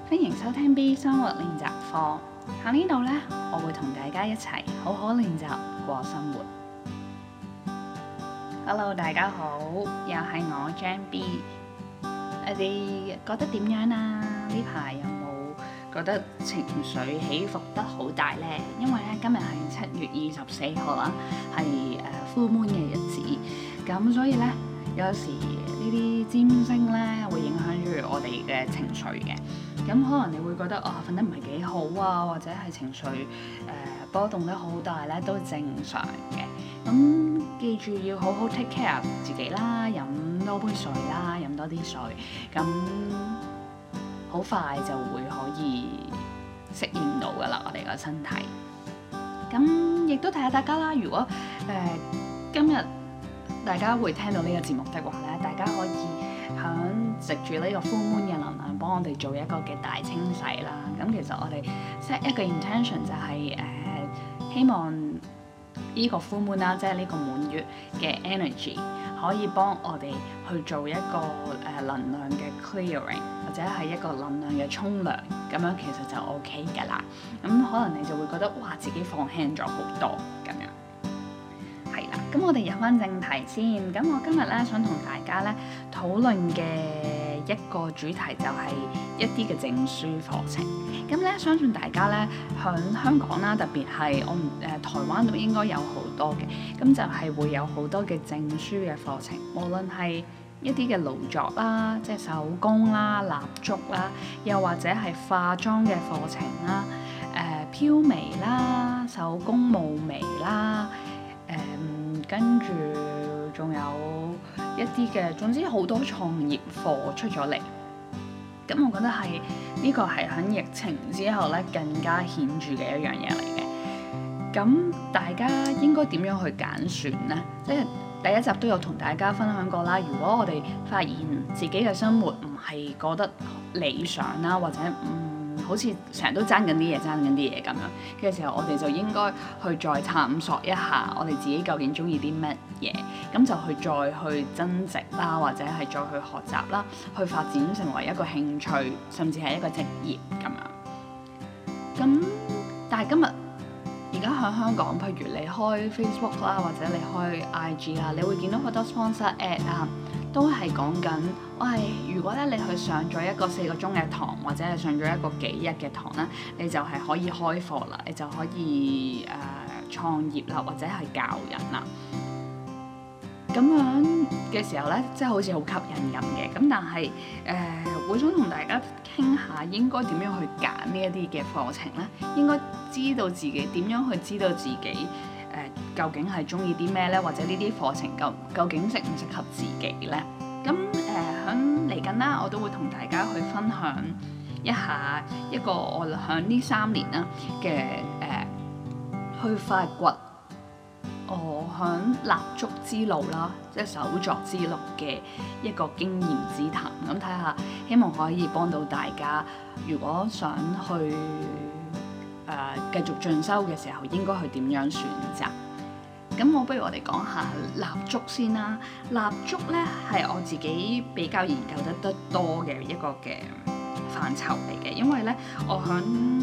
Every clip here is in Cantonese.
歡迎收聽 B 生活練習課。喺呢度呢，我會同大家一齊好好練習過生活。Hello， 大家好，又係我 Jam B。你哋覺得點樣啊？呢排有冇覺得情緒起伏得好大呢？因為咧今日係7月24號啦，係full moon 嘅日子，咁所以呢，有時呢啲占星呢會影響住我哋嘅情緒嘅。咁可能你會覺得瞓得唔係幾好啊，或者係情緒波動得好大咧，都正常嘅。咁記住要好好 take care 自己啦，飲多杯水啦，飲多啲水，咁好快就會可以適應到噶啦，我哋個身體。咁亦都提下大家啦，如果今日大家會聽到呢個節目的話咧，大家可以藉住呢個 full moon 嘅能量，幫我哋做一個嘅大清洗啦。咁其實我哋 set 一個 intention 就係希望呢個 full moon 啦，即係呢個滿月嘅 energy 可以幫我哋去做一個能量嘅 clearing， 或者係一個能量嘅沖涼，咁樣其實就 OK 㗎啦。咁可能你就會覺得哇，自己放輕咗好多咁樣。咁我哋入翻正題先。咁我今日咧想同大家咧討論嘅一個主題就係一啲嘅證書課程。咁咧相信大家咧響香港啦，特別係台灣都應該有好多嘅。咁就係會有好多嘅證書嘅課程，無論係一啲嘅勞作啦，即係手工啦、蠟燭啦，又或者係化妝嘅課程啦、飄眉啦、手工霧眉啦。跟住仲有一啲嘅，總之好多創業課出咗嚟。咁我覺得係呢個係喺疫情之後咧更加顯著嘅一樣嘢嚟嘅。咁大家應該點樣去揀選呢？即係第一集都有同大家分享過啦。如果我哋發現自己嘅生活唔係覺得理想啦，或者好似成日都爭緊啲嘢咁樣嘅時候，我哋就應該去再探索一下我哋自己究竟中意啲乜嘢，咁就去再去增值啦，或者係再去學習啦，去發展成為一個興趣，甚至係一個職業咁樣。咁但係今日而家喺香港，譬如你開 Facebook 啦，或者你開 IG 啦，你會見到好多 sponsor ad 啊，都係講緊，如果咧你去上咗一個4個鐘嘅堂，或者係上咗一個幾日嘅堂咧，你就係可以開課啦，你就可以創業啦，或者係教人啦。咁樣嘅時候咧，即係好似好吸引咁嘅。咁但係會想同大家傾下應該點樣去揀呢一啲嘅課程咧？應該知道自己點樣去知道自己究竟係中意啲咩咧？或者呢啲課程究竟適唔適合自己咧？咁響嚟緊啦，我都會同大家去分享一下一個我響呢3年啦嘅去發掘我響蠟燭之路啦，即係手作之路嘅一個經驗之談。咁睇下，希望可以幫到大家。如果想去繼續進修嘅時候，應該去點樣選擇？咁不如我哋講下蠟燭先啦。蠟燭咧係我自己比較研究得多嘅一個嘅範疇嚟嘅，因為咧我響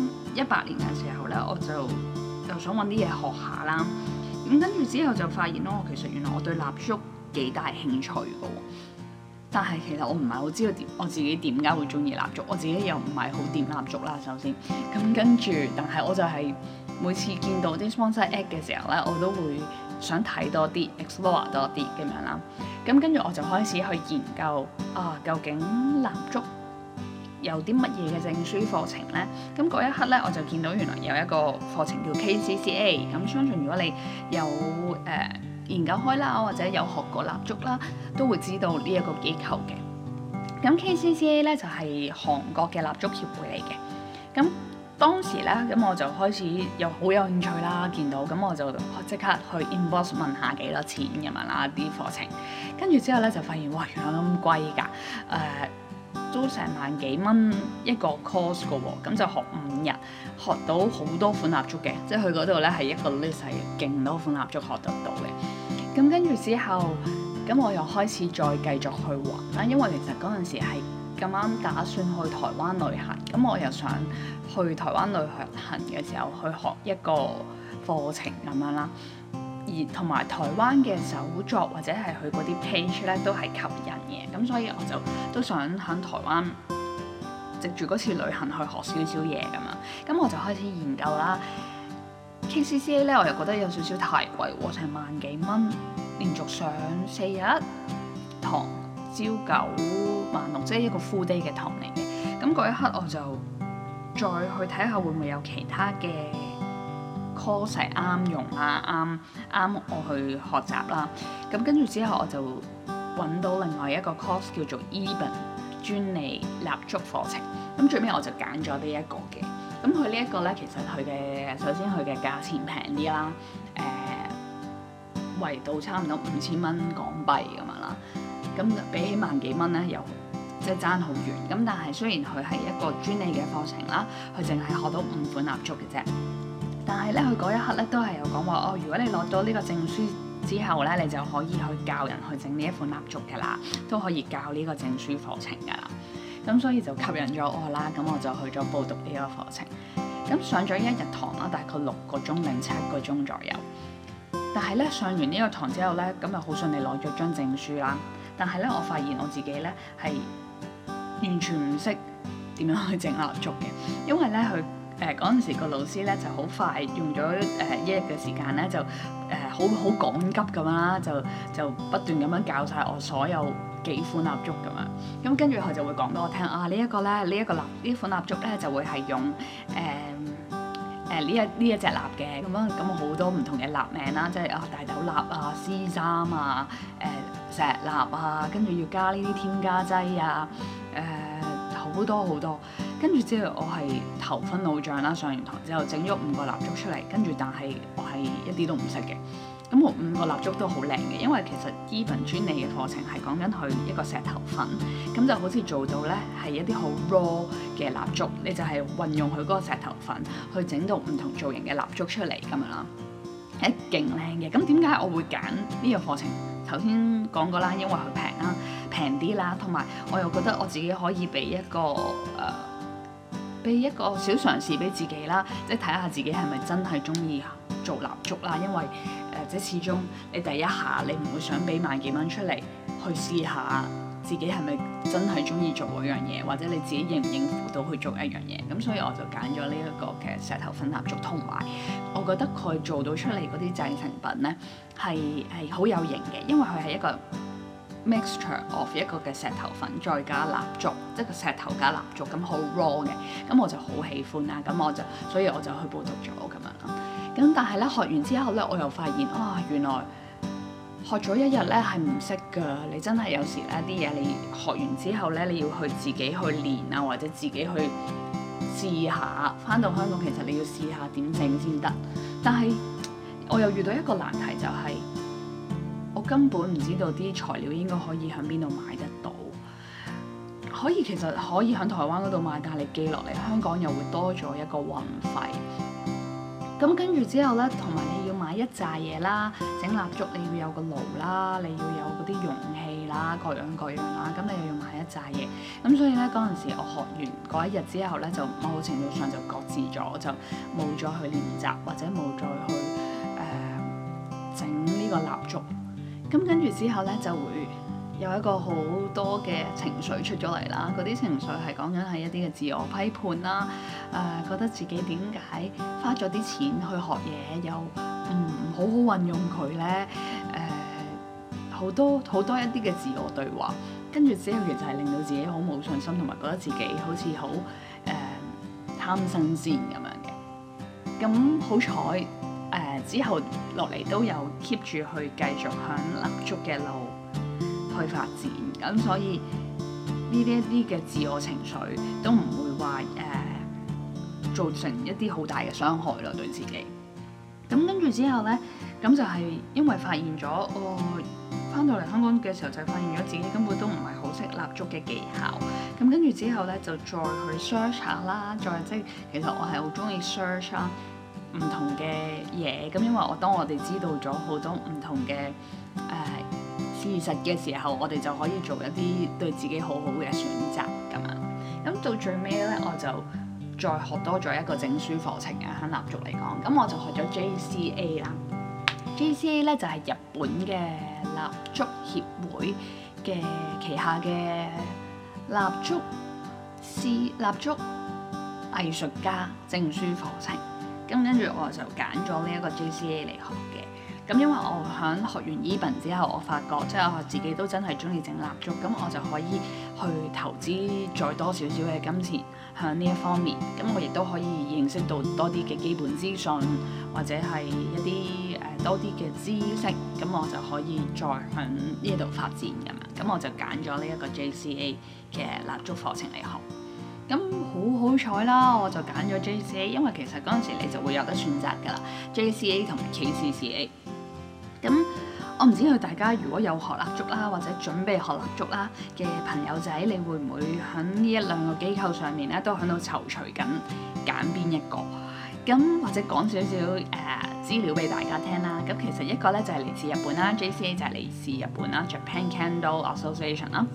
18年嘅時候咧，我就想揾啲嘢學下啦。咁跟住之後就發現其實原來我對蠟燭幾大興趣嘅喎。但係其實我唔係好知道我自己點解會中意蠟燭，我自己又唔係好掂蠟燭啦。首先，咁跟住，但係我就係每次見到啲 sponsor ad 嘅時候咧，我都會想睇多啲 explore 多啲咁樣啦。咁跟住我就開始去研究究竟蠟燭有啲乜嘢嘅證書課程咧？咁嗰一刻咧，我就見到原來有一個課程叫 KCCA。咁相信如果你有研究開啦，或者有學過蠟燭啦，都會知道呢一個機構嘅。咁 KCCA 咧就係韓國嘅蠟燭協會嚟嘅。咁當時咧，咁我就開始好有興趣啦，見到咁我就即刻去 inbox 問下幾多錢咁樣啦啲課程。跟住之後咧就發現哇，原來咁貴㗎，都成萬幾蚊一個 course 㗎喎。咁就學5日，學到好多款蠟燭嘅，即係去嗰度咧係一個 list 係勁多款蠟燭學得到嘅。咁跟住之後，咁我又開始再繼續去玩啦，因為其實嗰陣時係咁啱打算去台灣旅行，咁我又想去台灣旅行嘅時候去學一個課程咁樣啦。而同埋台灣嘅手作或者係佢嗰啲 page 咧都係吸引嘅，咁所以我就都想喺台灣藉住嗰次旅行去學少少嘢咁樣。咁我就開始研究啦。KCCA 咧我又覺得有少少太貴喎，成萬幾蚊，連續上4日堂，朝9晚6，即係一個 full day 嘅堂嚟嘅。咁嗰一刻我就再去睇下會唔會有其他嘅 course 係啱用啦，啱我去學習啦。咁跟住之後我就揾到另外一個 course 叫做 Eben 專利蠟燭課程。咁最尾我就揀咗呢一個嘅。咁佢呢一個咧，其實佢嘅首先佢嘅價錢平啲啦，圍到差唔多5000蚊港幣咁樣啦。咁比起萬幾蚊咧，又即係爭好遠。咁但係雖然佢係一個專利嘅課程啦，佢淨係學到5款蠟燭嘅啫。但係咧，佢嗰一刻咧都係有講話哦，如果你攞到呢個證書之後咧，你就可以去教人去整呢一款蠟燭㗎啦，都可以教呢個證書課程㗎啦。咁所以就吸引咗我啦，咁我就去咗報讀呢個課程。咁上咗1日堂啦，大概6個鐘定7個鐘左右。但係咧上完呢個堂之後咧，咁就好順利攞咗張證書啦。但係咧，我發現我自己咧係完全唔識點樣去整蠟燭嘅，因為咧佢嗰陣時個老師咧就好快用咗1日嘅時間咧就好趕急咁樣啦，就不斷咁樣教晒我所有幾款蠟燭咁樣。咁跟住佢就會講俾我聽啊，呢款蠟燭咧就會係用呢一隻蠟嘅咁樣，咁好多唔同嘅蠟名啦，即係大豆蠟啊、C3啊、石蠟啊，跟住要加呢啲添加劑啊，好多好多。跟住之後我係頭昏腦脹啦，上完堂之後整咗5個蠟燭出嚟，跟住但係我係一啲都唔識嘅。咁我5個蠟燭都好靚嘅，因為其實 Eben 專利嘅課程係講緊佢一個石頭粉，咁就好似做到咧係一啲好 raw 嘅蠟燭，你就係運用佢嗰個石頭粉去整到唔同造型嘅蠟燭出嚟咁樣啦，係勁靚嘅。咁點解我會揀呢個課程？頭先講過啦，因為佢平啦，平啲啦，同埋我又覺得我自己可以俾一個小嘗試俾自己啦，即係睇下自己係咪真係中意做蠟燭啦。因為即係始終你第一下你唔會想俾萬幾蚊出嚟去試下自己係咪真係中意做嗰樣嘢，或者你自己應唔應付到去做一樣嘢。咁所以我就揀咗呢一個嘅石頭粉蠟燭，同埋我覺得佢做到出嚟嗰啲製成品咧係好有型嘅，因為佢係一個mixture of 一個嘅石頭粉再加蠟燭，即係個石頭加蠟燭，咁好 raw 嘅，咁我就好喜歡啦，所以我就去報讀咗咁樣啦。咁但係咧學完之後咧，我又發現原來學咗1日咧係唔識㗎。你真係有時咧啲嘢你學完之後咧，你要去自己去練啊，或者自己去試下。返到香港其實你要試下點整先得，但係我又遇到一個難題，就係我根本唔知道啲材料應該可以喺邊度買得到。其實可以喺台灣嗰度買，但係你寄落嚟香港又會多咗一個運費。咁跟住之後咧，同埋你要買一紮嘢啦，整蠟燭你要有個爐啦，你要有嗰啲容器啦，各樣啦，咁你又要買一紮嘢。咁所以咧嗰陣時我學完嗰1日之後咧，就某程度上就擱置咗，就冇再去練習或者冇再去整呢個蠟燭。咁跟住之後咧就會有一個好多嘅情緒出咗嚟啦，嗰啲情緒係講緊係一啲嘅自我批判啦，覺得自己點解花咗啲錢去學嘢又唔好好運用佢咧，好多一啲嘅自我對話，跟住之後其實係令到自己好冇信心，同埋覺得自己好似好貪新鮮咁樣嘅。咁好彩之後落嚟都有 keep 住去繼續響蠟燭嘅路去發展，咁所以呢啲一啲嘅自我情緒都唔會話造成一啲好大嘅傷害咯，對自己。咁跟住之後咧，咁就係因為發現咗，翻到嚟香港嘅時候就發現咗自己根本都唔係好識蠟燭嘅技巧。咁跟住之後咧，就再去 search 下啦，即係其實我係好中意 search 啦唔同嘅嘢。咁因為當我哋知道咗好多唔同嘅事實嘅時候，我哋就可以做一啲對自己好好嘅選擇。 到最尾咧，我就再學多咗一個證書課程嘅，喺蠟燭嚟講，咁我就學咗 JCA 啦。JCA 咧就係日本嘅蠟燭協會嘅旗下嘅蠟燭藝術家證書課程。咁跟住我就揀咗呢一個 JCA 嚟學嘅。咁因為我喺學完 Eben 之後，我發覺即係我自己都真係中意整蠟燭，咁我就可以去投資再多少少嘅金錢喺呢一方面。咁我亦都可以認識到多啲嘅基本資訊，或者係一啲多啲嘅知識，咁我就可以再喺呢度發展咁樣。咁我就揀咗呢一個 JCA 嘅蠟燭課程嚟學。咁好彩啦，我就揀咗 JCA， 因為其實嗰陣時你就會有得選擇㗎啦，JCA 同埋 KCCA。咁我唔知道大家如果有學蠟燭啦，或者準備學蠟燭啦嘅朋友仔，你會唔會喺呢一兩個機構上面咧都喺度躊躇緊揀邊一個？咁或者講少少資料俾大家聽啦。咁其實一個咧就係嚟自日本啦 ，JCA 就係嚟自日本啦 ，Japan Candle Association 啦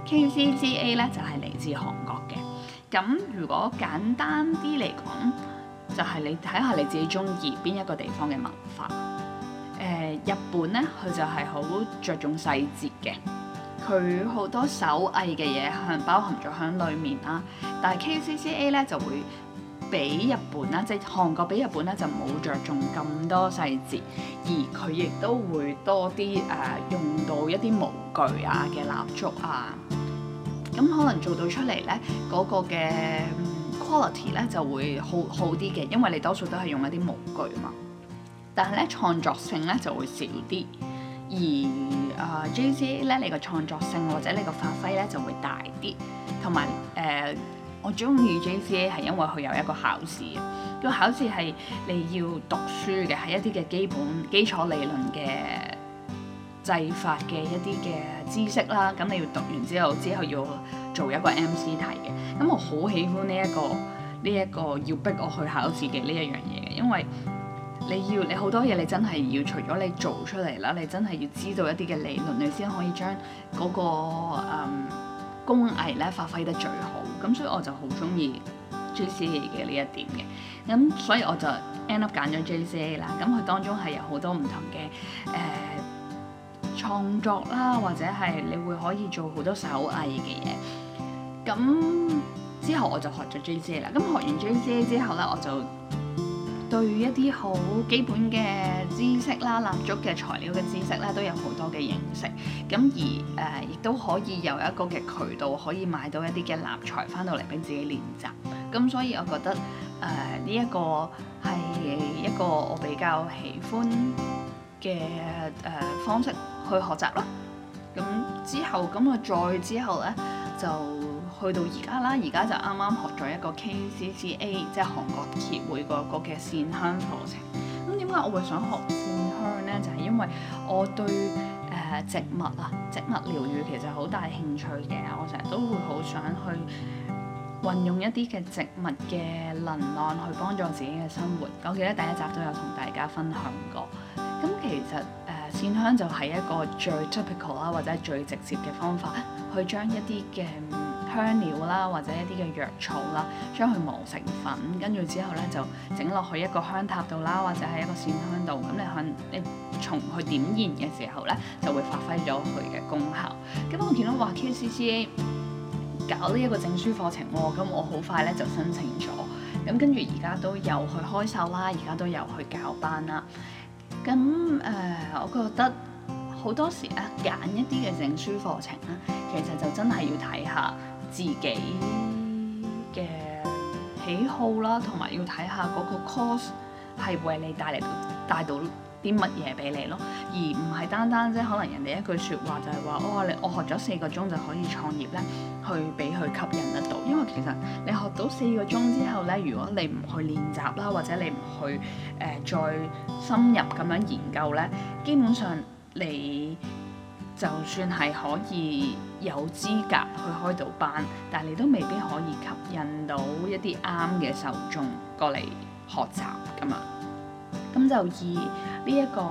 ，KCCA 咧就係嚟自韓國嘅。咁如果簡單啲嚟講，就係你睇下你自己中意邊一個地方嘅文化。日本咧，佢就係好着重細節嘅，佢好多手藝嘅嘢係包含咗喺裡面啦。但係 KCCA 咧就會比日本啦，即係韓國比日本咧就冇着重咁多細節，而佢亦都會多啲用到一啲模具啊嘅蠟燭啊，咁可能做到出嚟咧嗰個嘅 quality 咧就會好啲嘅，因為你多數都係用一啲模具嘛。但係咧創作性咧就會少啲，而JCA 咧你個創作性或者你個發揮咧就會大啲，同埋我中意 JCA 係因為佢有一個考試，個考試係你要讀書嘅，係一啲嘅基礎理論嘅製法嘅一啲嘅知識啦，咁你要讀完之後要做一個 MC 題嘅，咁我好喜歡呢一個要逼我去考試嘅呢一樣嘢嘅，因為你好多嘢你真係要除咗你做出嚟啦，你真係要知道一啲嘅理論，你先可以將嗰個工藝咧發揮得最好。咁所以我就好中意 JCA 嘅呢一點嘅。咁所以我就 end up 揀咗 JCA 啦。咁佢當中係有好多唔同嘅創作啦，或者係你會可以做好多手藝嘅嘢。咁之後我就學咗 JCA 啦。咁學完 JCA 之後咧，我就對一啲好基本嘅知識啦，蠟燭嘅材料嘅知識咧都有好多嘅認識，咁而亦都可以有一個嘅渠道可以買到一啲嘅蠟材翻到嚟俾自己練習，咁所以我覺得呢一個係一個我比較喜歡嘅方式去學習啦。咁之後我再之後咧就去到而家啦，而家就啱啱學咗一個 KCCA， 即係韓國協會個嘅線香課程。咁點解我會想學線香呢？就係因為我對植物療癒其實好大興趣嘅，我成日都會好想去運用一啲嘅植物嘅能量去幫助自己嘅生活。我記得第一集都有同大家分享過。咁其實線香就係一個最 typical 啦，或者最直接嘅方法，去將一啲嘅香料啦，或者一啲嘅藥草啦，將佢磨成粉，跟住之後咧就整落去一個香塔度啦，或者係一個線香度。咁你從佢點燃嘅時候咧，就會發揮咗佢嘅功效。咁我見到話 KCCA 搞呢一個證書課程喎，咁我好快咧就申請咗。咁跟住而家都有去開售啦，而家都有去教班啦。咁我覺得好多時咧揀一啲嘅證書課程咧，其實就真係要睇下自己嘅喜好啦，同埋要睇下嗰個 course 係為你帶到啲乜嘢俾你咯，而唔係單單即係可能人哋一句説話就係話我學咗4個鐘就可以創業咧，去俾佢吸引得到。因為其實你學到4個鐘之後咧，如果你唔去練習啦，或者你唔去再深入咁樣研究咧，基本上你就算係可以有資格去開到班，但係你都未必可以吸引到一啲啱嘅受眾過嚟學習㗎嘛。咁就以呢一個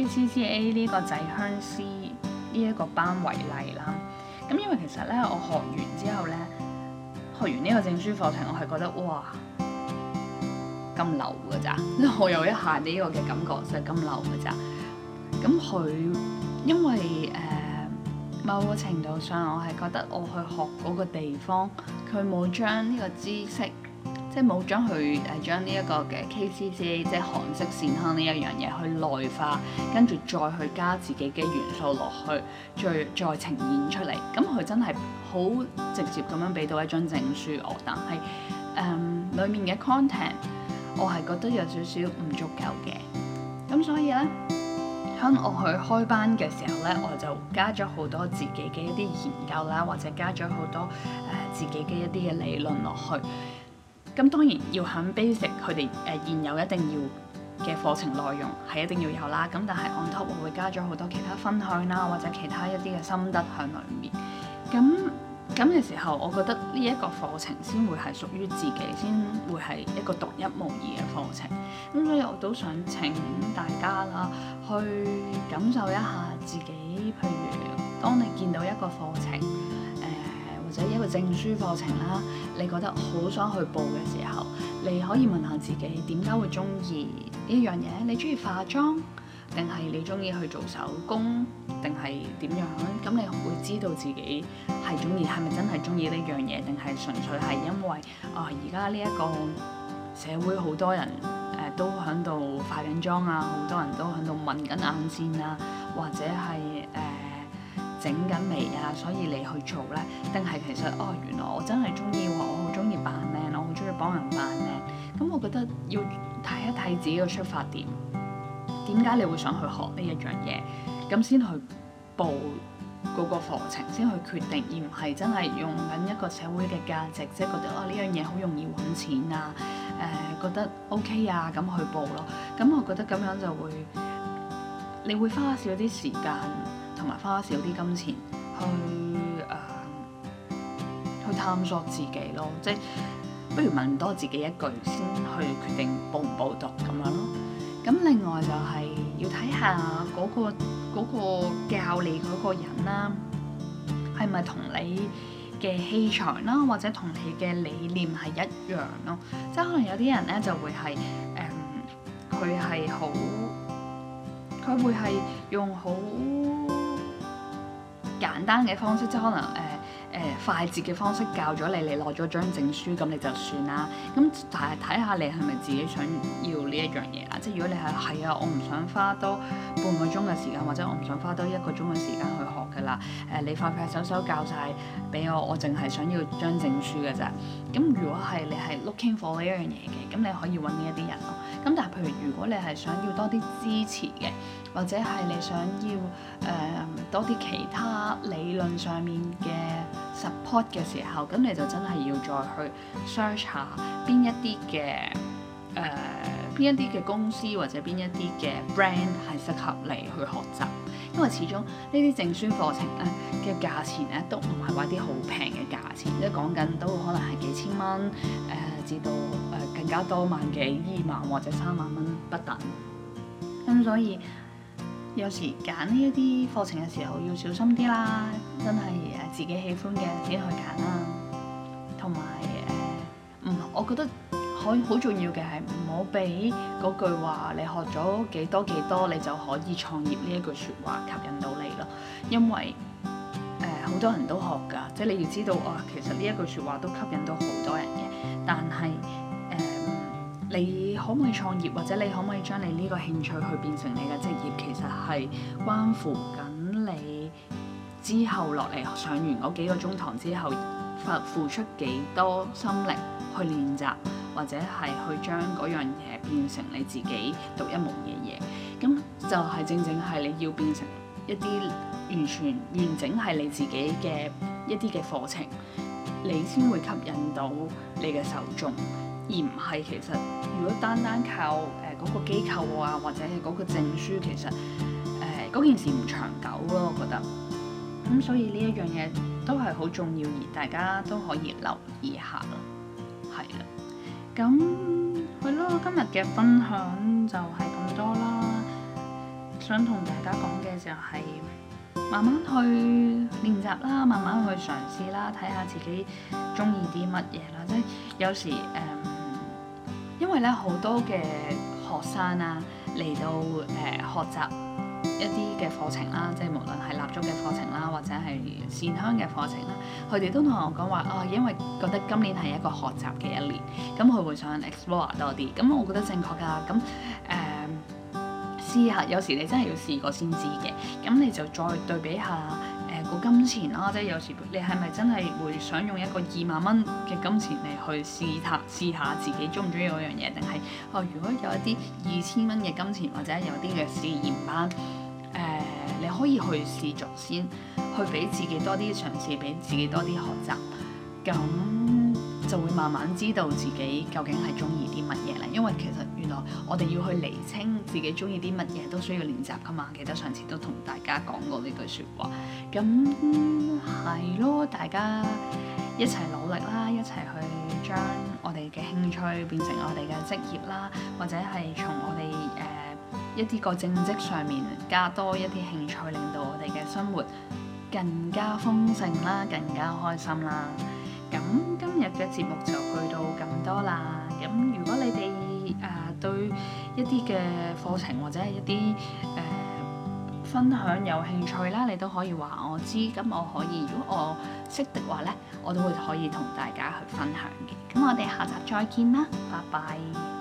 KCCA 呢個製香師呢一個班為例啦。咁因為其實咧，我學完之後咧， 學完呢個證書課程，我係覺得哇咁流㗎咋，即係我有一下呢個嘅感覺就係咁流㗎咋。咁佢因為某個程度上，我係覺得我去學嗰個地方，佢冇將呢個知識，即係冇將佢將呢一個嘅 KCCA 即係韓式線香呢一樣嘢去內化，跟住再去加自己嘅元素落去，再呈現出嚟。咁佢真係好直接咁樣俾到一張證書我，但係裡面嘅 content 我係覺得有少少唔足夠嘅。咁所以呢，當我去開班嘅時候呢，我就加咗好多自己嘅一啲研究啦，或者加咗好多自己嘅一啲嘅理論落去。咁當然要喺 basic 佢哋現有一定要嘅課程內容係一定要有啦。咁但係 on top 我會加咗好多其他分享啦，或者其他一啲嘅心得喺裡面。咁嘅時候，我覺得呢一個課程先會係屬於自己，先會係一個獨一無二嘅課程。咁所以我都想請大家啦，去感受一下自己。譬如當你見到一個課程，或者一個證書課程啦，你覺得好想去報嘅時候，你可以問下自己點解會中意呢樣嘢？你中意化妝，定係你中意去做手工，定係點樣？咁你會知道自己係中意，係咪真係中意呢樣嘢，定係純粹係因為而家呢一個社會好多人都喺度化緊妝啊，好多人都喺度紋緊眼線啊，或者係整緊眉啊，所以你去做呢？定係其實原來我真係中意喎，我好中意扮靚，我好中意幫人扮靚。咁我覺得要睇一睇自己嘅出發點，點解你會想去學呢一樣嘢，咁先去報嗰個課程，先去決定，而唔係真係用緊一個社會嘅價值，即係覺得呢樣嘢好容易揾錢啊，覺得 OK 啊，咁去報咯。咁我覺得咁樣就會，你會花少啲時間，同埋花少啲金錢去探索自己咯，即係不如問多自己一句先去決定報唔報讀咁樣咯。咁另外就係要睇下嗰個教你嗰個人啦，係咪同你嘅氣場啦，或者同你嘅理念係一樣咯？即係可能有啲人咧就會係佢會係用好簡單嘅方式，即係可能快捷嘅方式教咗你，你攞咗張證書咁你就算啦。咁但係睇下你係咪自己想要呢一樣嘢啦。即係如果你係啊，我唔想花多半個鐘嘅時間，或者我唔想花多1個鐘嘅時間去學㗎啦。你快快手手教晒俾我，我淨係想要張證書㗎咋。咁如果係你係 looking for 呢一樣嘢嘅，咁你可以揾呢一啲人咯。咁但係譬如如果你係想要多啲支持嘅，或者係你想要多啲其他理論上面嘅 support 嘅時候，咁你就真係要再去 search 下邊一啲嘅公司或者邊一啲嘅 brand 係適合你去學習，因為始終呢啲證書課程咧嘅價錢咧都唔係話啲好平嘅價錢，即係講緊都可能係幾千蚊至到更加多萬幾2萬或者3萬蚊不等。咁所以有時揀呢一啲課程嘅時候要小心啲啦，真係自己喜歡嘅先去揀啦。同埋我覺得好重要嘅係唔好俾嗰句話你學咗幾多你就可以創業呢一句説話吸引到你咯。因為好多人都學㗎，即係你要知道其實呢一句説話都吸引到好多人嘅。但係你可唔可以創業，或者你可唔可以將你呢個興趣去變成你嘅職業，其實係關乎緊你之後落嚟上完嗰幾個鐘堂之後付出幾多心力去練習，或者係去將嗰樣嘢變成你自己獨一無二嘅嘢。咁就係正係你要變成一啲完全完整係你自己嘅一啲嘅課程，你先會吸引到你嘅受眾。而唔係其實如果單靠嗰個機構啊，或者係嗰個證書，其實嗰件事唔長久咯，我覺得。咁所以呢一樣嘢都係好重要，而大家都可以留意下咯。係啦，咁係咯，今日嘅分享就係咁多啦。想同大家講嘅就係慢慢去練習啦，慢慢去嘗試啦，睇下自己中意啲乜嘢啦。即係有時因為咧好多嘅學生啊嚟到學習一啲嘅課程啦，即係無論係蠟燭嘅課程啦，或者係線香嘅課程啦，佢哋都同我講話啊，因為覺得今年係一個學習嘅一年，咁佢會想 explore 多啲。咁我覺得正確㗎。咁試下，有時你真係要試過先知嘅。咁你就再對比下個金錢啦，即係有時你係咪真係會想用一個20,000蚊嘅金錢嚟去試下自己中唔中意嗰樣嘢，定係如果有一啲2000蚊嘅金錢或者有啲嘅試驗班，你可以去試做先，去俾自己多啲嘗試，俾自己多啲學習，咁就會慢慢知道自己究竟係中意啲乜嘢咧。因為其實原來我哋要去釐清自己中意啲乜嘢都需要練習噶嘛。記得上次都同大家講過呢句説話。咁係咯，大家一齊努力啦，一齊去將我哋嘅興趣變成我哋嘅職業啦，或者係從我哋一啲個正職上面加多一啲興趣，令到我哋嘅生活更加豐盛啦，更加開心啦。咁今日嘅節目就去到咁多啦。咁如果你哋對一啲嘅課程或者係一啲分享有興趣啦，你都可以話我知。咁我可以，如果我識的話咧，我都會可以同大家去分享嘅。咁我哋下集再見啦，拜拜。